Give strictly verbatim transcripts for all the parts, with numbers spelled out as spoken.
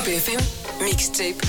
B F M Mixtape.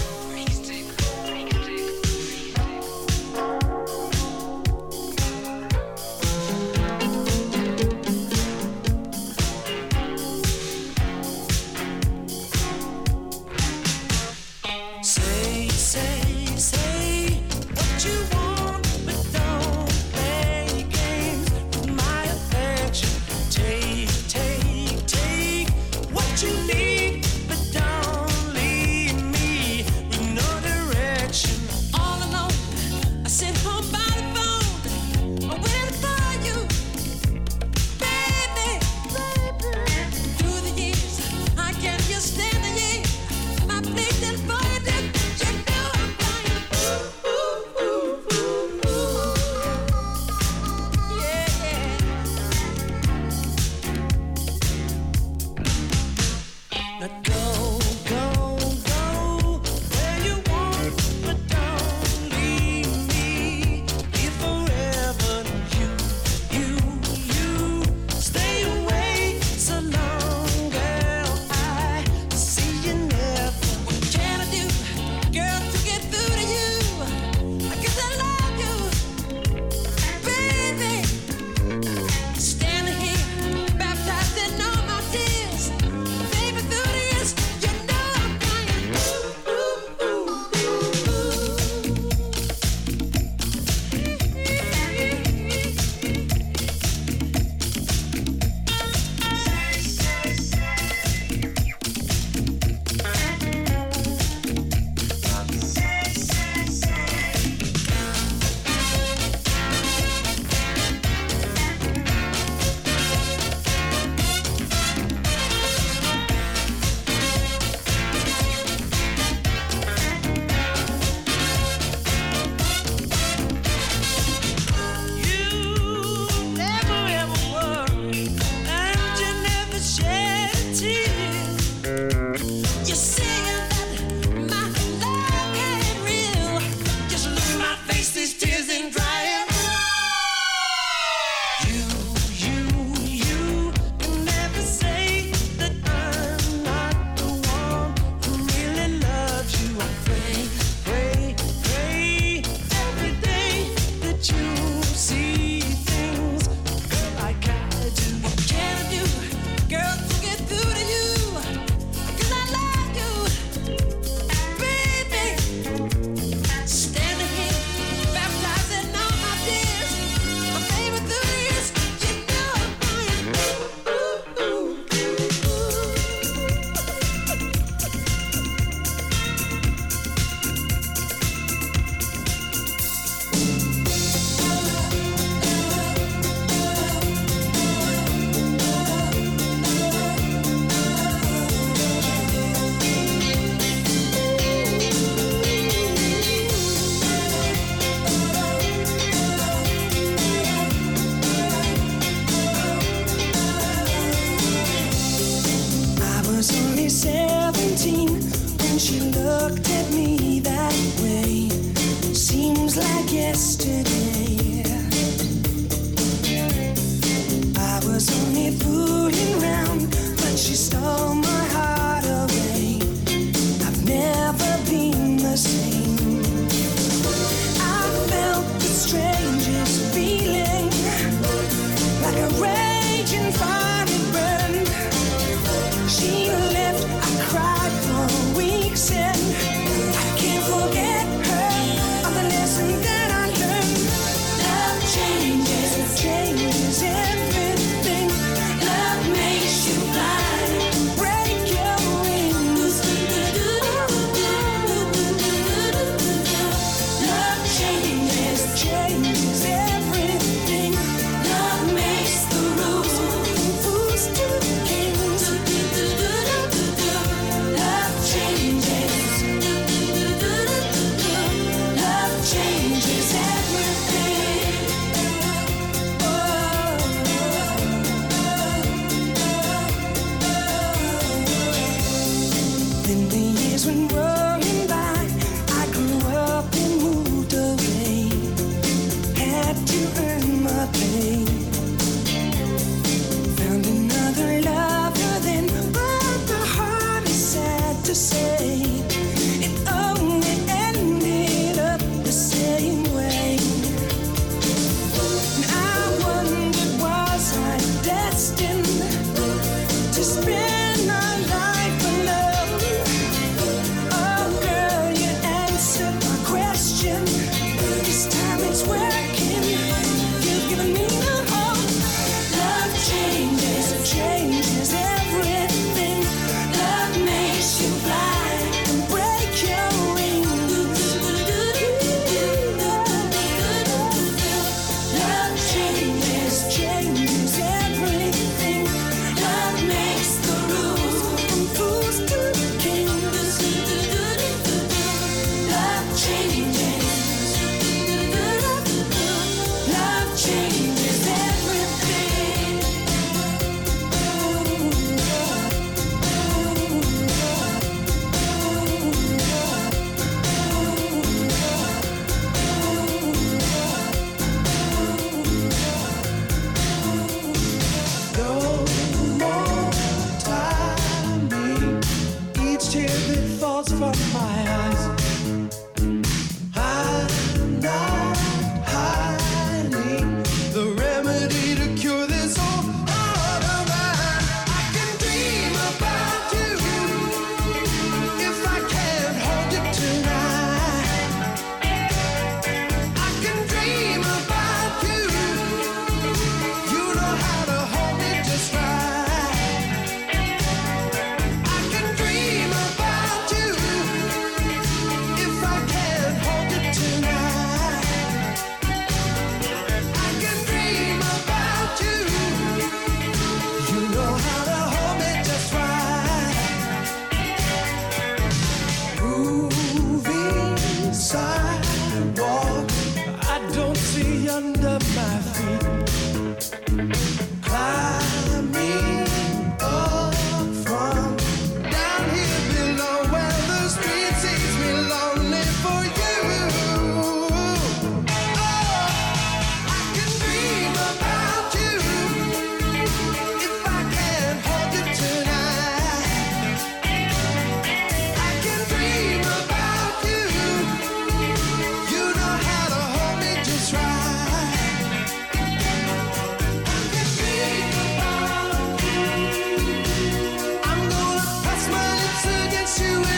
to say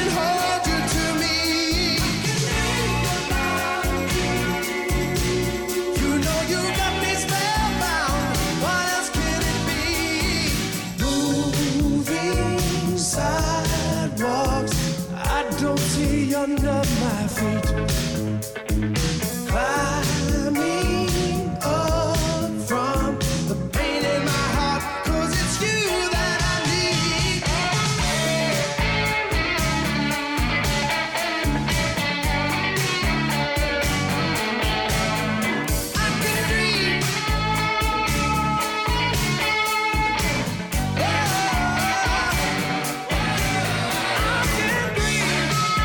hold you to me. You know you got me spellbound. What else can it be? Moving sidewalks, I don't see under my feet. Climbing up from the pain in my heart, 'cause it's you that I need. I can dream. Oh, I can dream.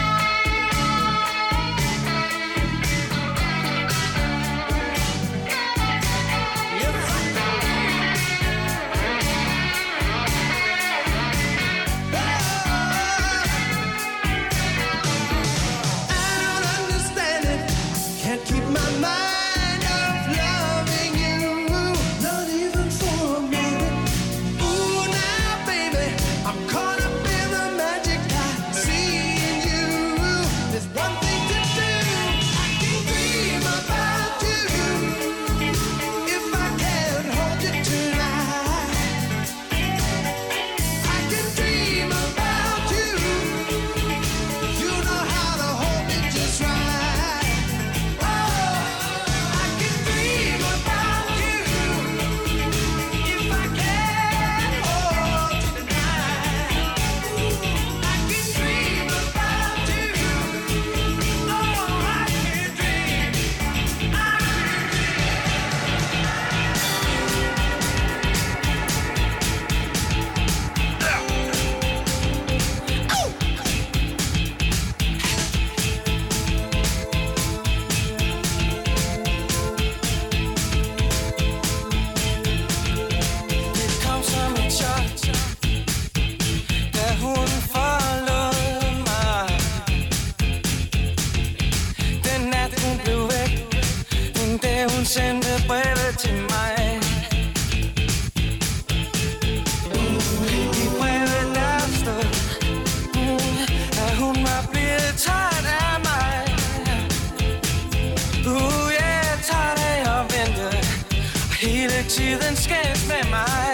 I don't understand it. Can't keep my mind off loving you, not even for a minute. Ooh, now, baby, I'm caught up in the magic I see in you. There's one thing to do. I can dream about you. If I can't hold you tonight, I can dream about you. You know how to hold me just right. Oh, I can dream about you. If I can't hold you tonight, I can dream about you. Oh, I can dream. I Det kom som et chok, da hun forlod mig. Den nat hun blev væk, den dag hun sendte brevet til mig. I brevet der stod, mm, at hun var blevet træt af mig. Uh, jeg er træt af at vente, og hele tiden skændes med mig.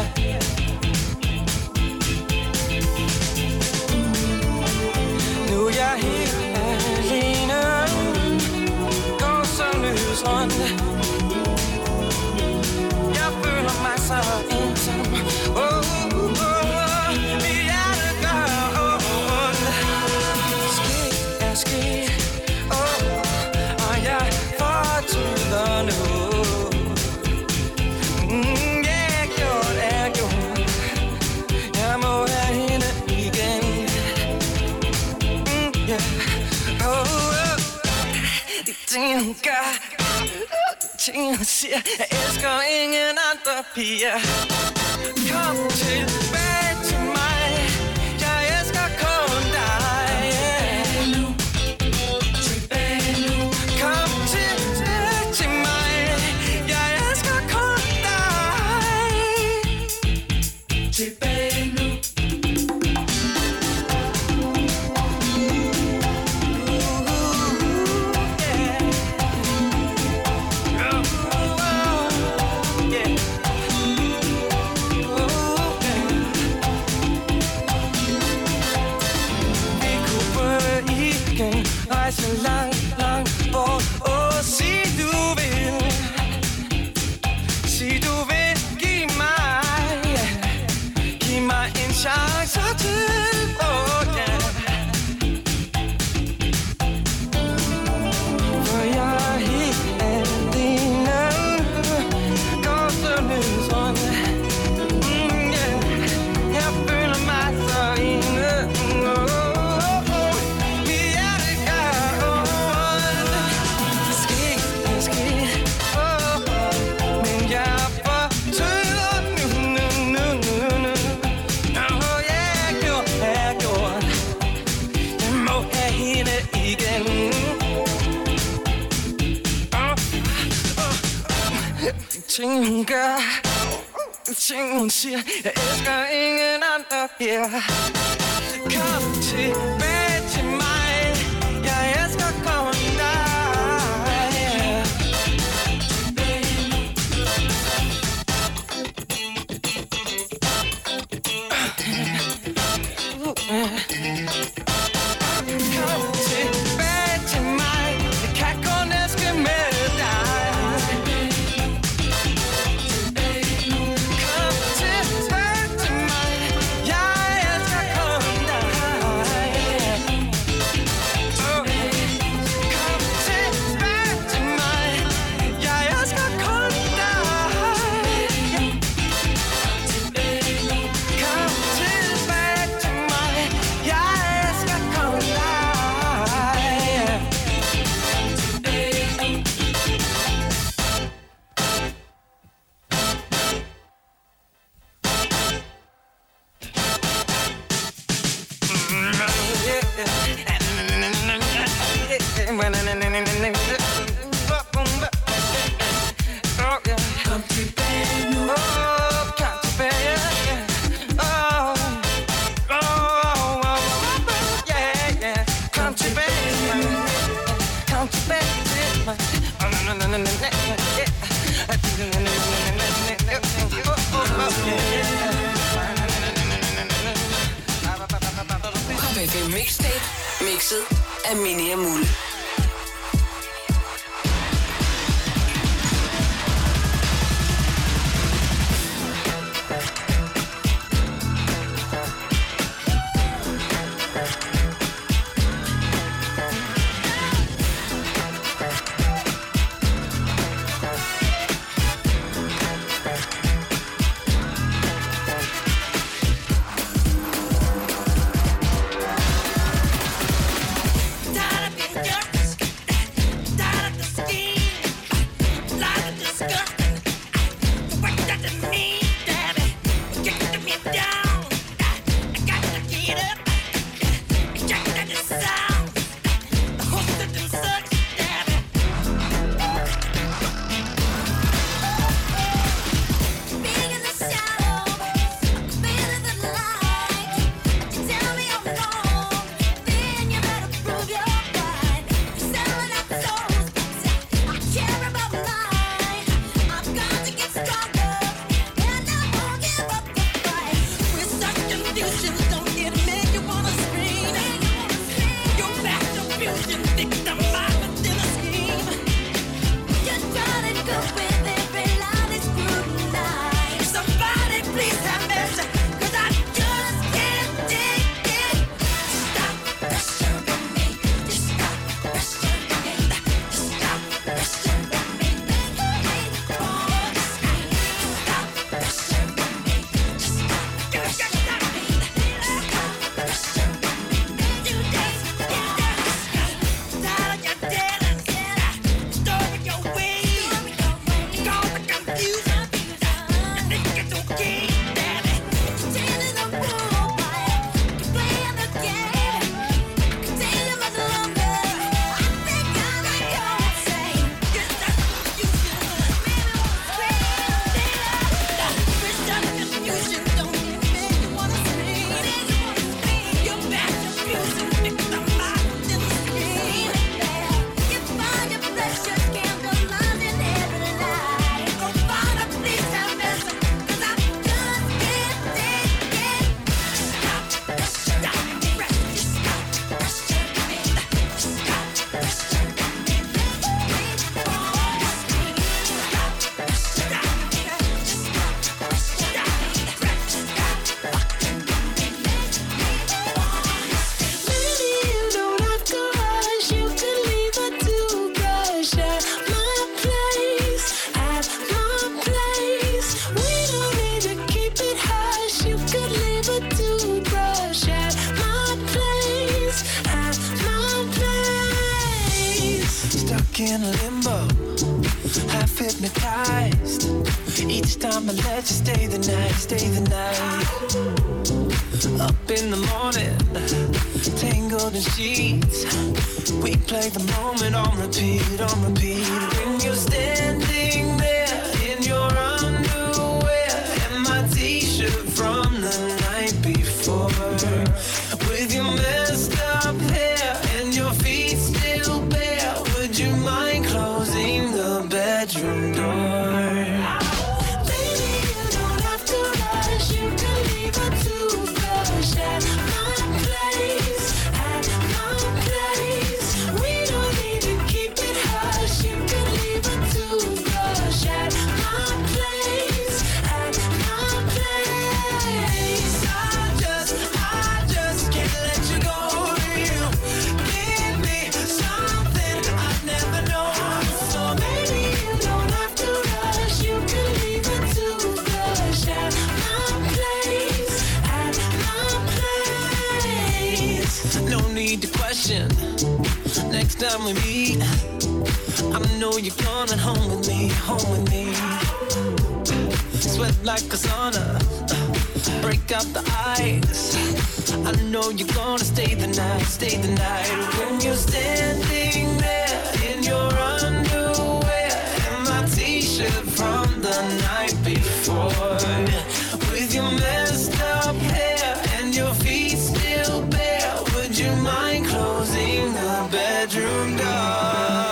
Nu er jeg helt alene, går som løs rundt. Jeg føler mig så ensom. Oh, oh, oh, mit hjerte gør ondt. Sket er sket, oh, og jeg fortryder nu. Mm, jeg gjort er gjort. Jeg må have hende igen. Mm, yeah. Oh, oh. De ting hun gør, de ting hun siger, jeg elsker ingen andre piger. Kom tilbage til mig, jeg elsker kun dig. Kom tilbage til mig, jeg elsker kun dig. Tilbage nu. Rejse langt, langt bort og sig du vil. Sig du vil give mig, giv mig en chance til, oh yeah. For jeg er helt alene, går så løs rundt. Mm, yeah. Jeg føler mig så ene, oh. Ting hun gør, ting hun siger, jeg elsker ingen andre her. Kom tilbage. Country band, oh, country band, oh, oh, oh, yeah, yeah, country band, country band, oh, no, no, no, no, yeah. Pop F M Mixtape, mixet af Mini og Mulle. In limbo, half hypnotized. Each time I let you stay the night, stay the night. Up in the morning, tangled in sheets. We play the moment on repeat, on repeat. When you're standing there in your underwear and my t-shirt from the night before, with your messed up hair and your feet still bare, would you mind closing the bedroom door? Baby, you don't have to rush. You can leave a toothbrush at my place, at my place. We don't need to keep it hush. You can leave a toothbrush at my place, at my place. I just, I just can't let you go. You give me something I've never known. So Baby, you don't have to rush. You can leave a toothbrush at my place, at my place. no need to question. Next time we meet, I know you're coming home with me, home with me. Sweat like a sauna, break out the ice. I know you're gonna stay the night, stay the night. When you're standing there mind closing the bedroom door?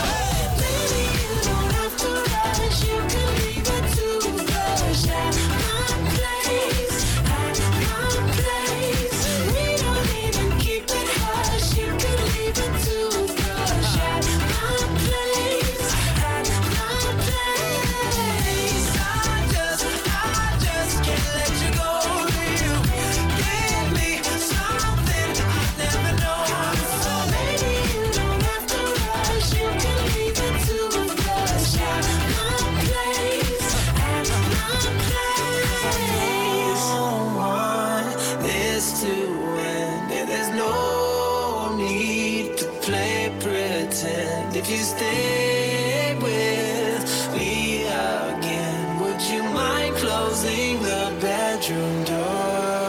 If you stay with me again, would you mind closing the bedroom door?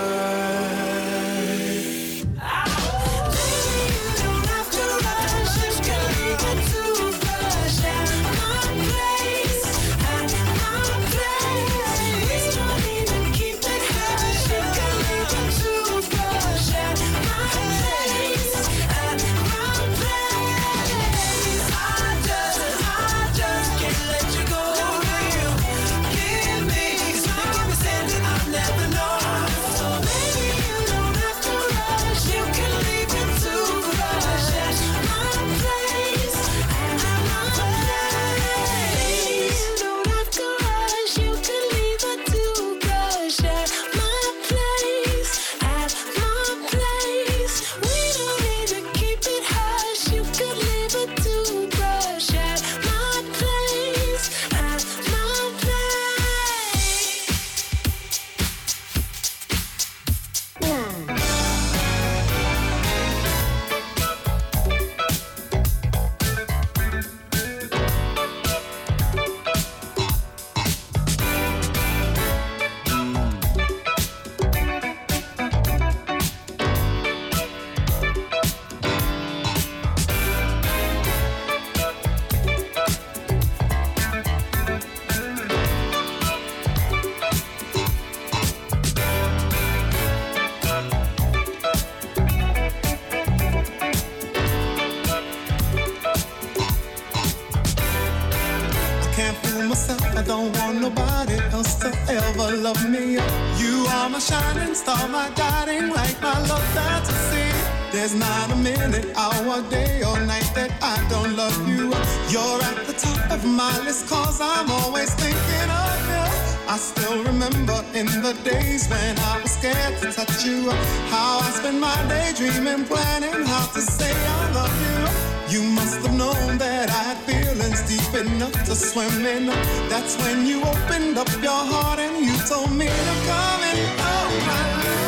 Star, my guiding light, my love fantasy. There's not a minute, hour, day or night that I don't love you. You're at the top of my list, cause I'm always thinking of you. I still remember in the days when I was scared to touch you, how I spent my day dreaming, planning how to say I love you. You must have known that I had feelings deep enough to swim in. That's when you opened up your heart and you told me to come in. Oh my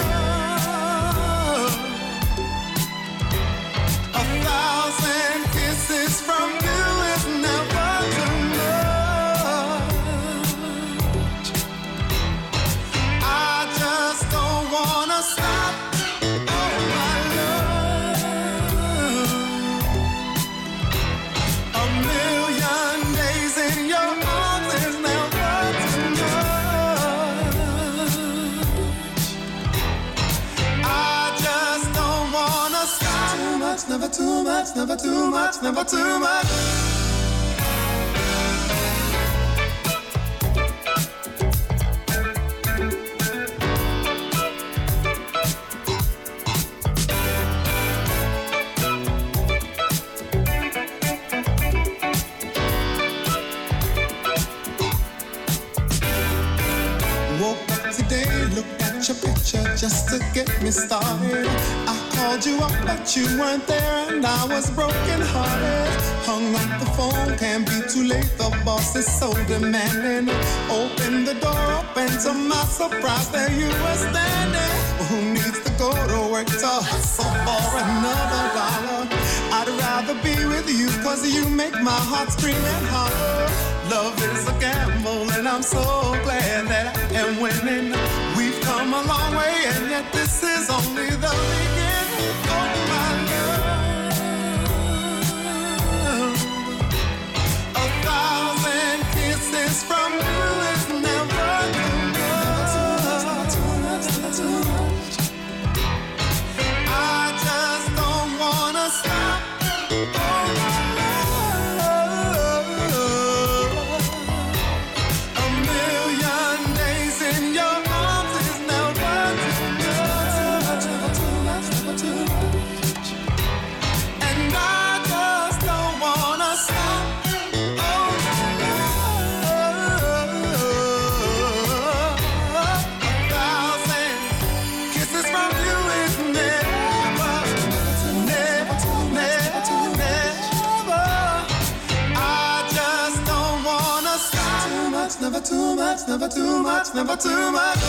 love, a thousand kisses from you is never too much. I just don't wanna stop. Oh my love, a million days in your arms is never too much. I just don't wanna stop. Too much, never too much, never too much, never too much. Your picture just to get me started. I called you up but you weren't there and I was broken hearted. Hung up the phone, can't be too late, the boss is so demanding. Open the door up and to my surprise there you were standing. Who needs to go to work to hustle for another dollar? I'd rather be with you cause you make my heart scream and holler. Love is a gamble and I'm so glad that I am winning. We've come a long way and yet this is only the beginning. Oh my love, a thousand kisses from you is never too much. I just don't want Never too much, never too much, never too much.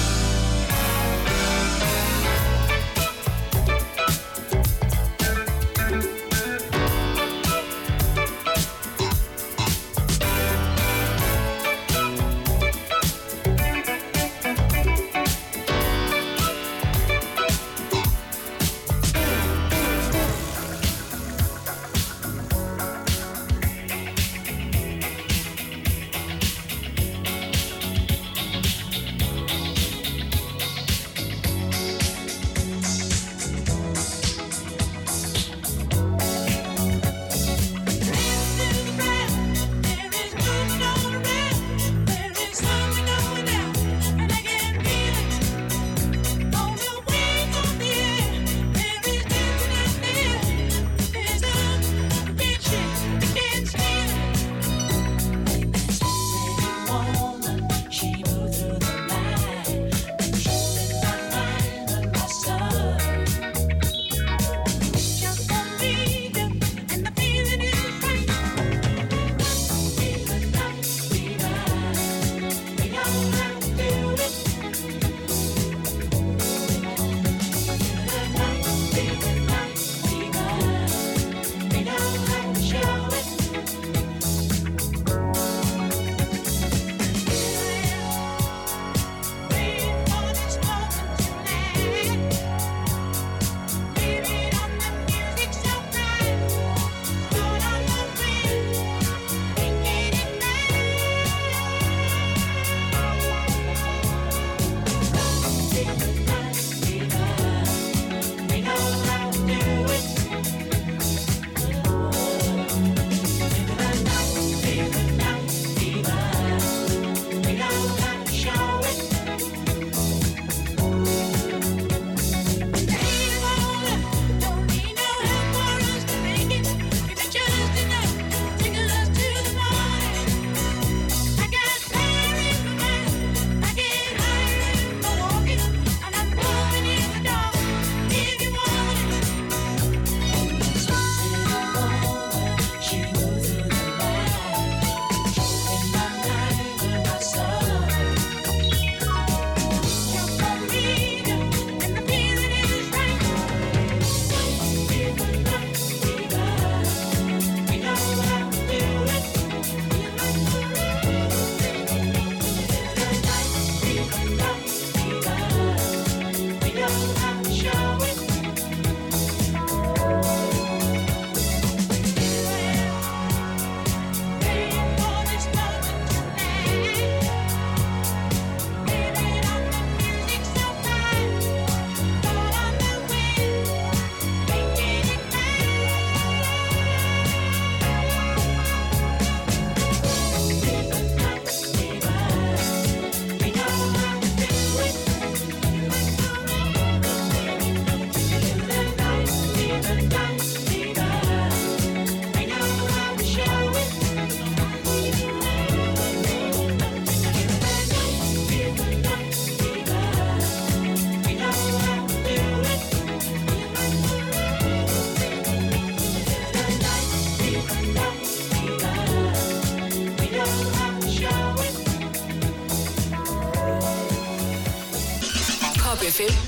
F M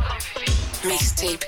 Mixtape.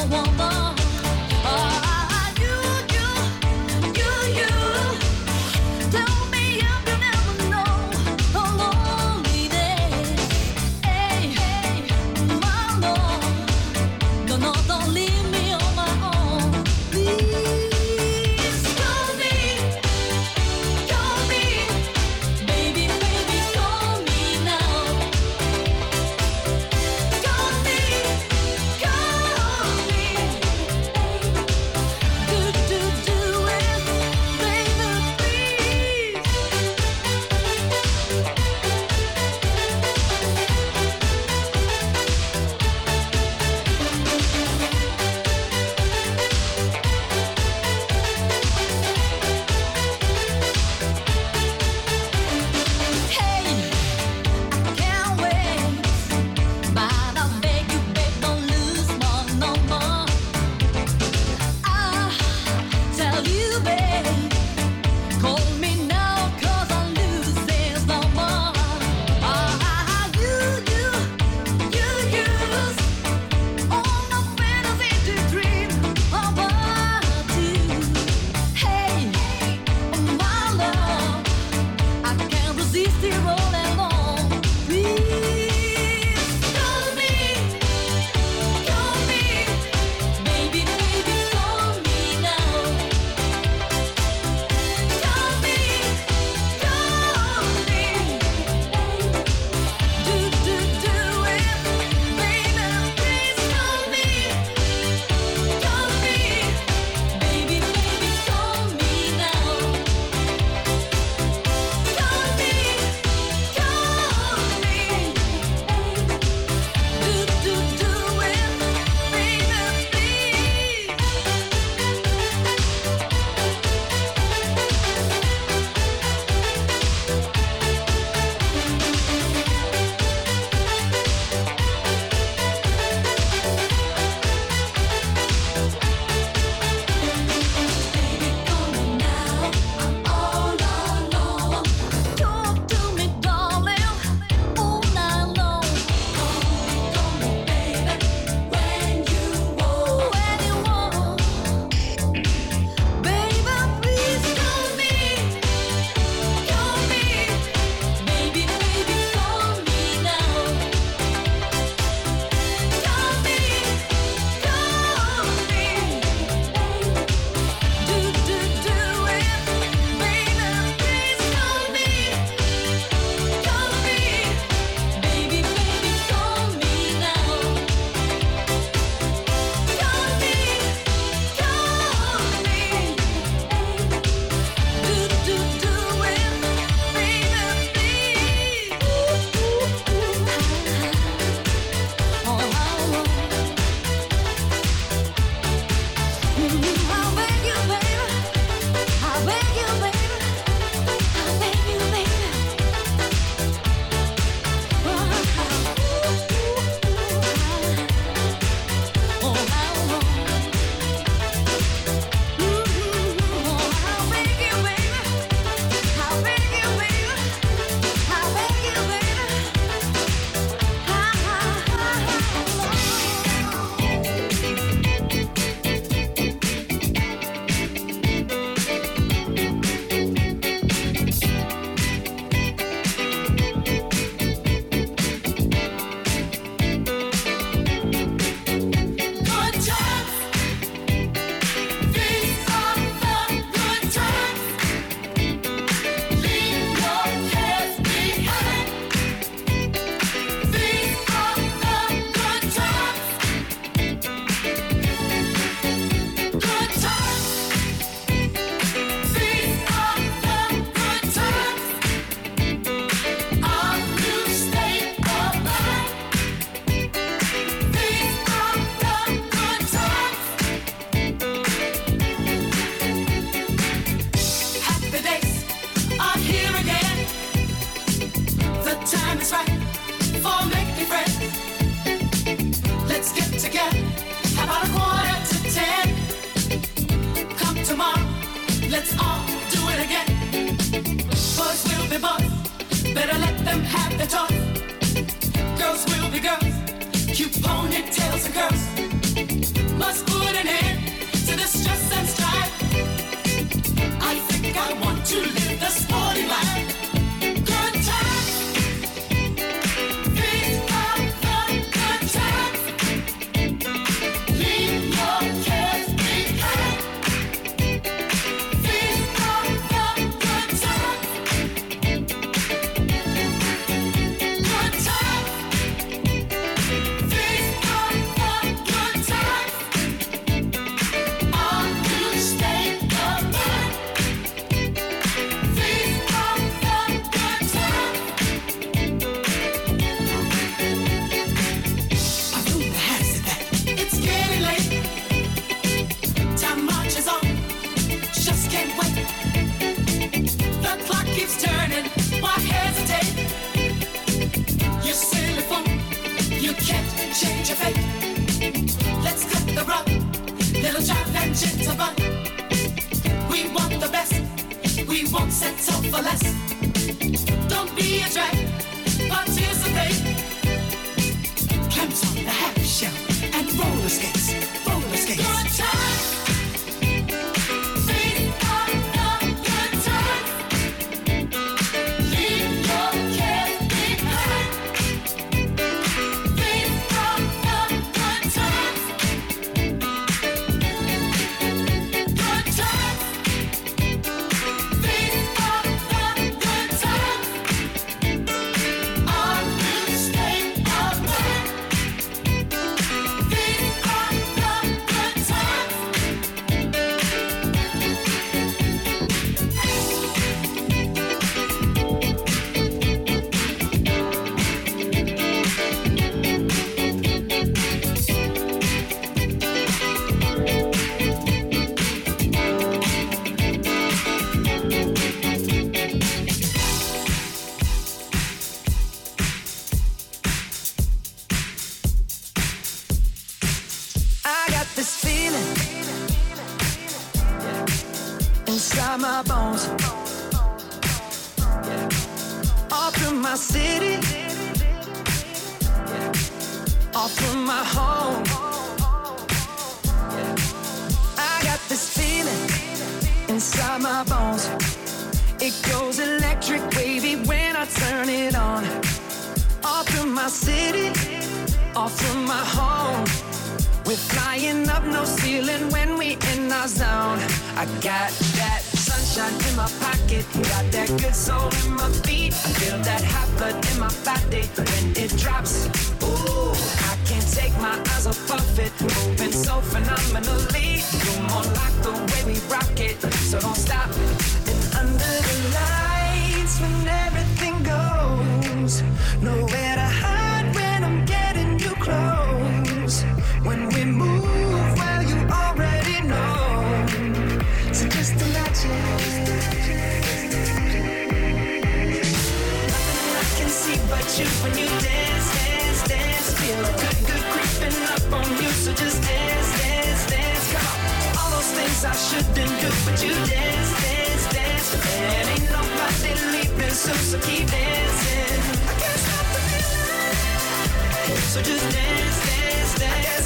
Girls will be girls, cute ponytails and curves. must put an end to the stress and strife. I think I want to live the sporty life. Good times, these are the good times. Leave your cares behind. These are the good times. Good times. These are the good times. Are you staying alive? These are the good times. I know the has it that it's getting late. Time marches on, just can't wait. The clock keeps turning, why hesitate? You silly fool, you can't change your fate. Let's cut the rug, little jive and jitterbug. We want the best, we won't settle for less. Don't be a drag, participate. Clamps on the half shell and roller skates, roller skates. Good times. These are the good times. Leave your cares behind. These are the good times. Good times. These are the good times. Are you staying alive? These are the good times. I got this feeling inside my bones, all through my city, all through my home. I got this feeling inside my bones. It goes electric wavy when I turn it on. All through my city, all through my home. We're flying up, no ceiling when we in our zone. I got that sunshine in my pocket, got that good soul in my feet. I feel that hot blood in my body when it drops. Ooh, I can't take my eyes off of it, moving so phenomenally. You're more like the way we rock it, so don't stop. And under the lights, when everything goes, nowhere to hide when I'm getting you close. When we move, well, you already know. So just imagine. Nothing I can see but you when you dance, dance, dance. Feel good, good creeping up on you. So just dance, dance, dance. Come on. All those things I shouldn't do, but you dance, dance, dance. And ain't nobody leaving soon, so keep dancing. I can't stop the feeling. So just dance, dance, dance.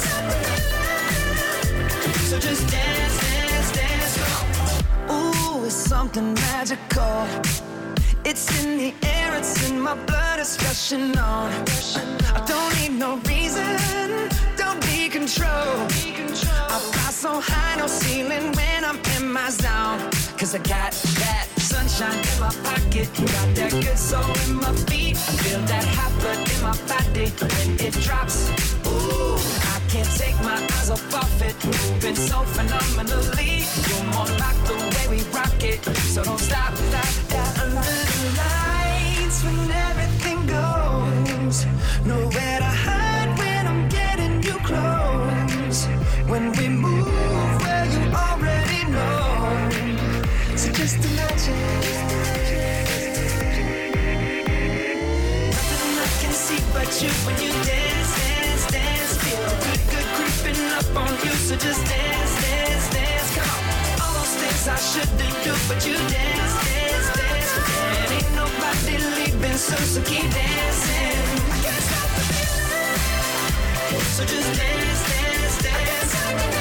So just dance, dance, dance. Ooh, it's something magical. It's in the air, it's in my blood, it's rushing on. I don't need no reason, don't be control. I fly so high, no ceiling when I'm in my zone. Cause I got that sunshine in my pocket, got that good soul in my feet. I feel that hot blood in my body when it drops. Ooh, I can't take my eyes off of it, moving so phenomenally. You're more like the way we rock it, so don't stop, stop, stop. Under the lights, when everything goes, nowhere to hide when I'm getting you close. When we move, well, you already know. So just imagine. Nothing I can see but you when you dance, dance, dance. Feel good, good creeping up on you. So just dance, dance, dance. Come on. All those things I shouldn't do, but you dance, dance, dance. And ain't nobody leaving soon, so keep dancing. I can't stop the feeling. So just dance, dance, dance.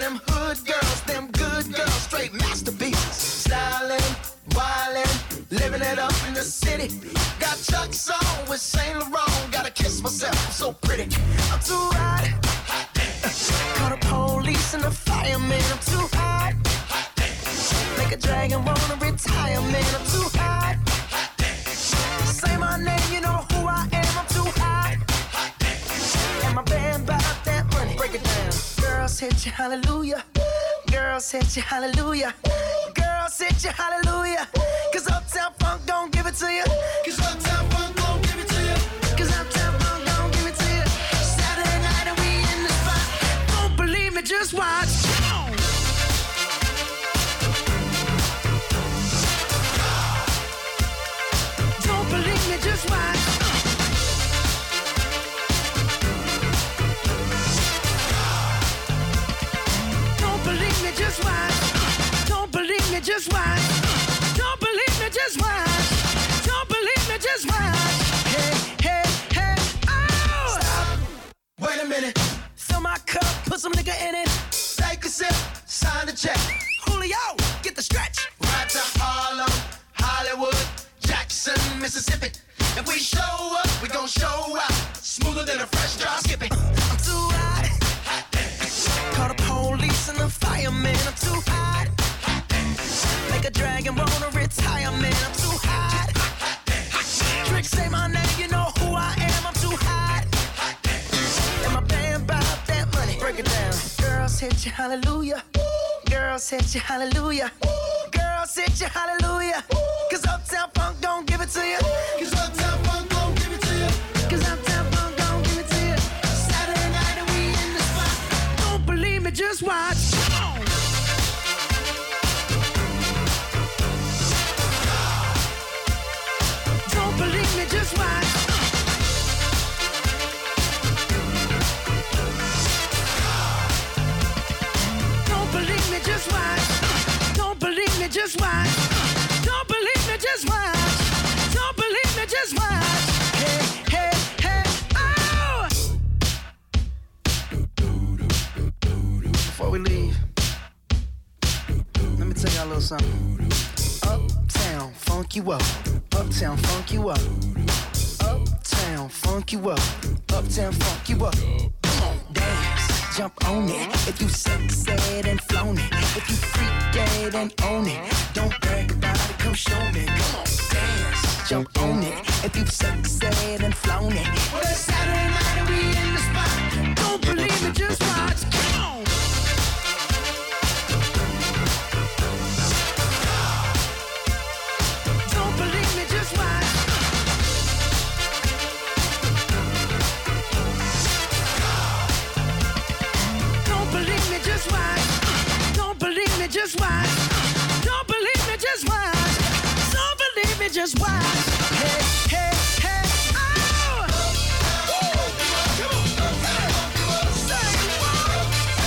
them hood girls, them good girls, straight masterpieces. Stylin', wildin', living it up in the city. Got Chuck's on with Saint Laurent. Gotta kiss myself, I'm so pretty. I'm too hot. Call the police and the fireman. I'm too hot. Make a dragon wanna retire, man. I'm too hot. Say my name, you know who I am. I'm too hot. And my band bought that money. Break it down. Girls hit you, hallelujah. Girls hit you, hallelujah. Girls hit you, hallelujah. Cause Uptown Funk don't give it to you. Cause Uptown Funk don't give it to you. Cause Uptown Funk don't give it to you. Saturday night and we in the spot. Don't believe me, just watch. Don't believe me, just watch. Don't believe me, just watch. Don't believe me, just watch. Don't believe me, just watch. Don't believe me, just watch. Hey, hey, hey, oh! Stop. Wait a minute. Fill my cup, put some nigga in it. Take a sip, sign the check. Julio, get the stretch. Right to Harlem, Hollywood, Jackson, Mississippi. If we show up, we gon' show out. Smoother than a fresh drop skipping. I'm too hot. Call the police and the fireman. I'm too hot. Make a dragon wanna retire, man. I'm too hot. Trick, say my name, you know who I am. I'm too hot. And my band bought that money. Break it down. Girls hit you, hallelujah. Girls hit you, hallelujah. Girls hit you, hallelujah. Cause Uptown Funk don't give it to you. Cause Uptown Funk don't give it to you. Cause Uptown Funk don't give it to you. Saturday night and we in the spot. Don't believe me, just watch. Don't believe me, just watch. Don't believe me, just watch. Don't believe me, just watch. Don't believe me, just watch. Don't believe me, just watch. Hey, hey, hey, oh! Before we leave, let me tell y'all a little something. Uptown, funk you up. Uptown, funk you up. Uptown, funk you up. Uptown, funk you up. Come on, dance, jump on it. If you sexed and flown it. If you freak dead and own it. Don't brag about it, come show me. Come on, dance, jump on it. If you sexed and flown it. Well, it's Saturday night and we in the spot. Don't believe me, just watch. Come on. Don't believe me, just watch. Don't believe me, just watch. Don't believe me, just watch. Don't believe me, just watch. Don't believe me, just watch. Hey, hey, hey, oh! Say what?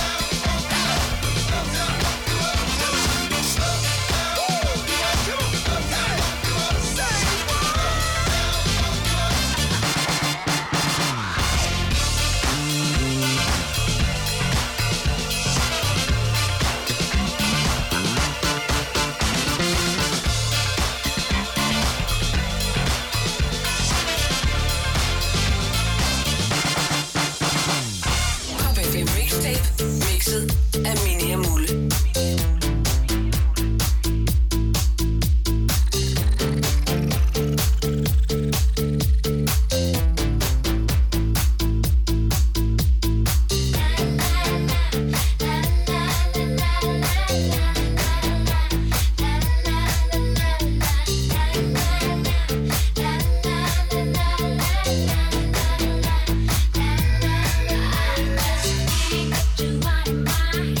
Mixet af Mini og Mulle. You want my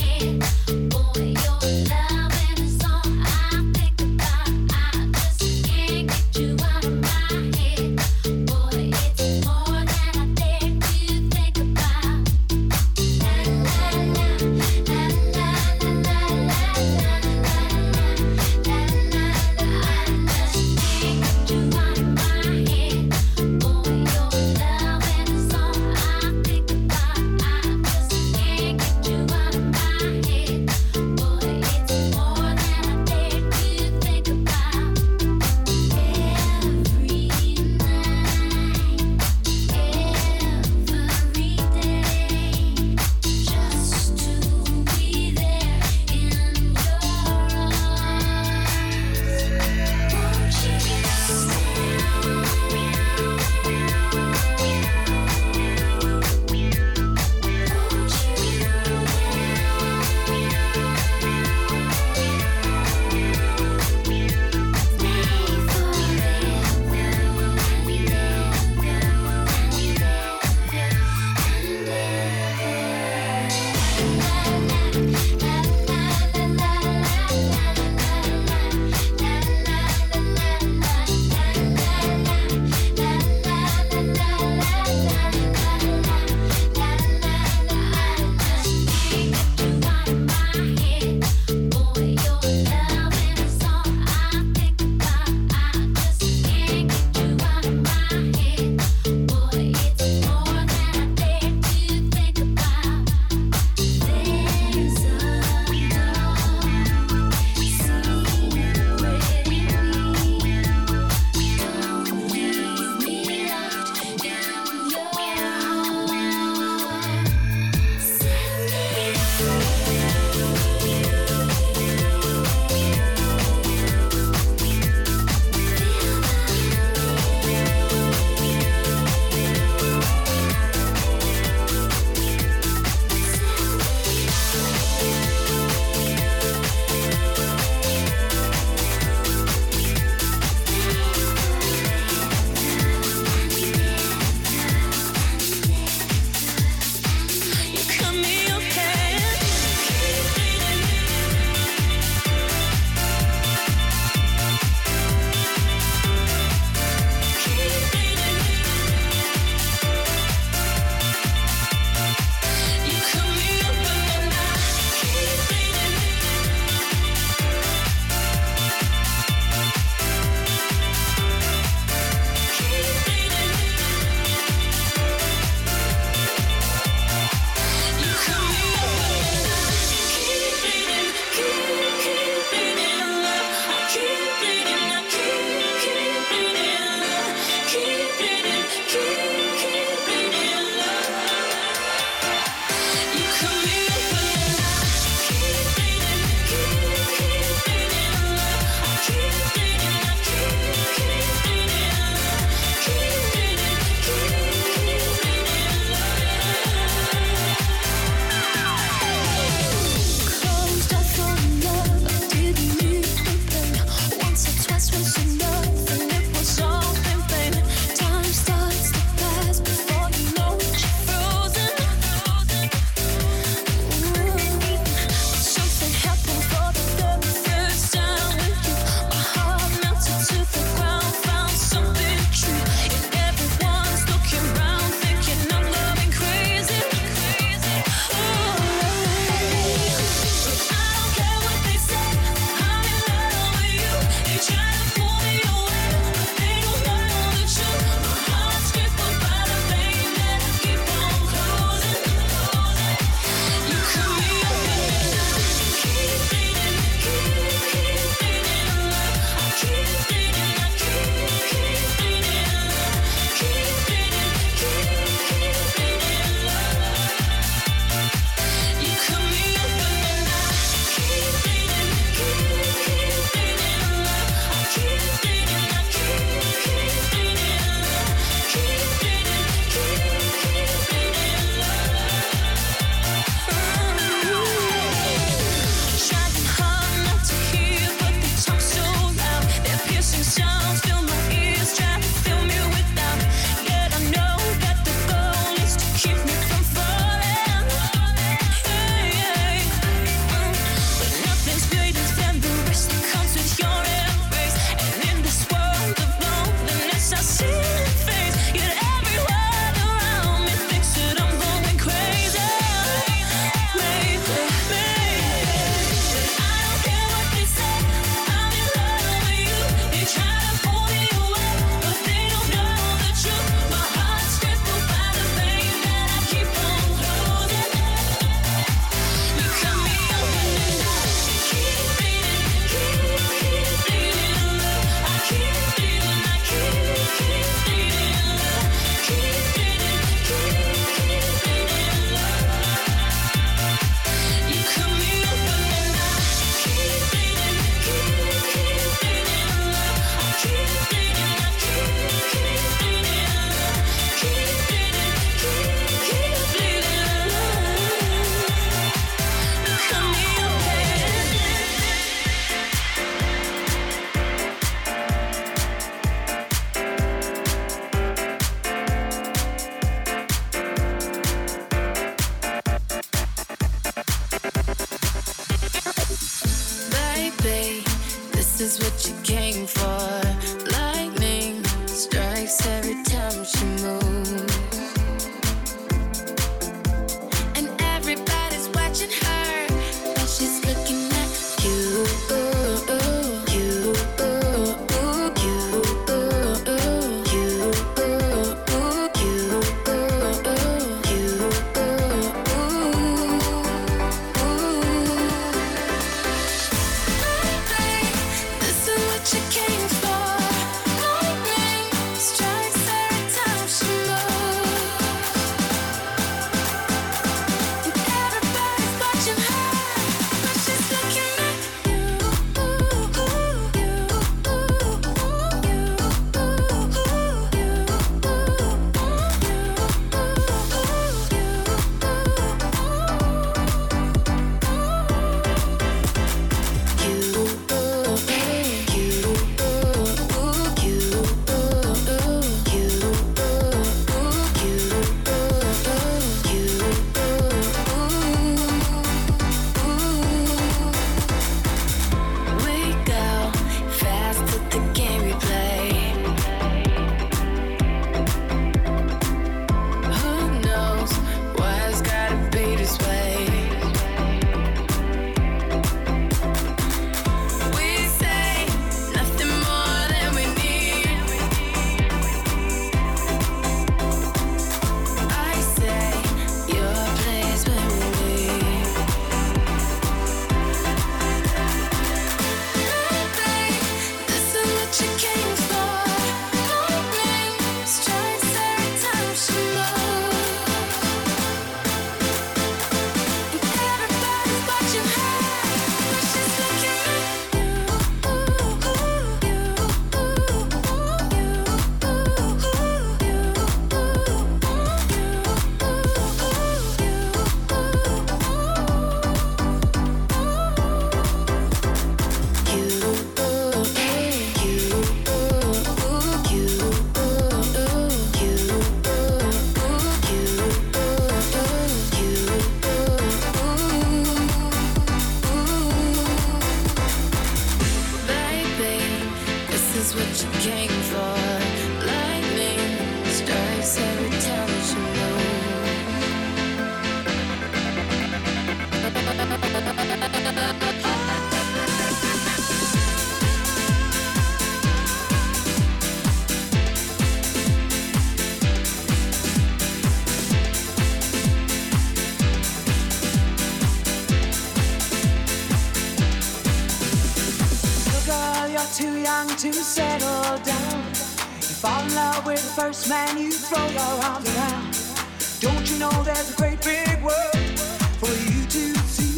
young to settle down. You fall in love with the first man, you throw your arms around. Don't you know there's a great big world for you to see?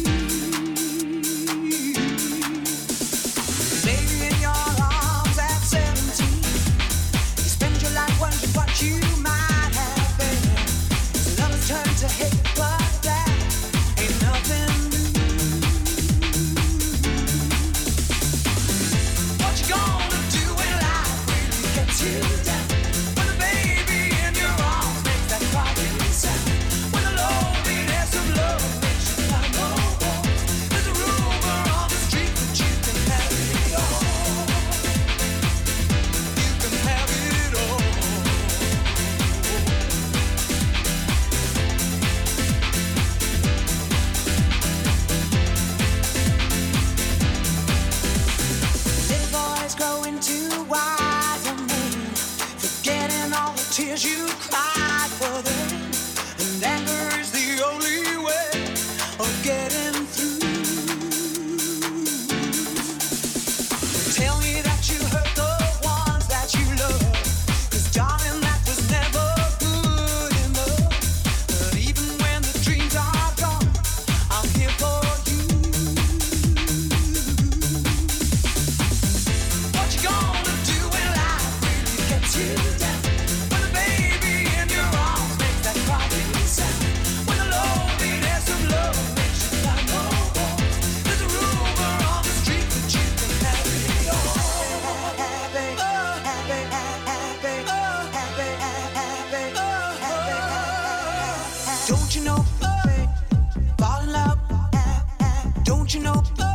Baby, in your arms at seventeen, you spend your life wondering what you might have been. So lovers turn to hate, but that ain't nothing new. What you gonna do when life really gets you down? When a baby in your arms makes that crying sound. When the loneliness of love makes you find no walls. There's a rumor on the street that you can have it all. You can have it all. Little boys grow into wiser men, forgetting all the tears you cried for them. And anger is the only way of getting through. Tell me that you hurt the ones that you love, 'cause darling, that was never good enough. But even when the dreams are gone, I'm here for you. What you gonna do when life really gets you down? When a baby in your arms makes that crying sound. When the loneliness of love makes you find no walls. There's a rumor on the street that you can have it all. Happy, oh, happy, happy, oh, happy, happy, oh, happy, happy. Don't you know, babe, fall in love. Don't you know?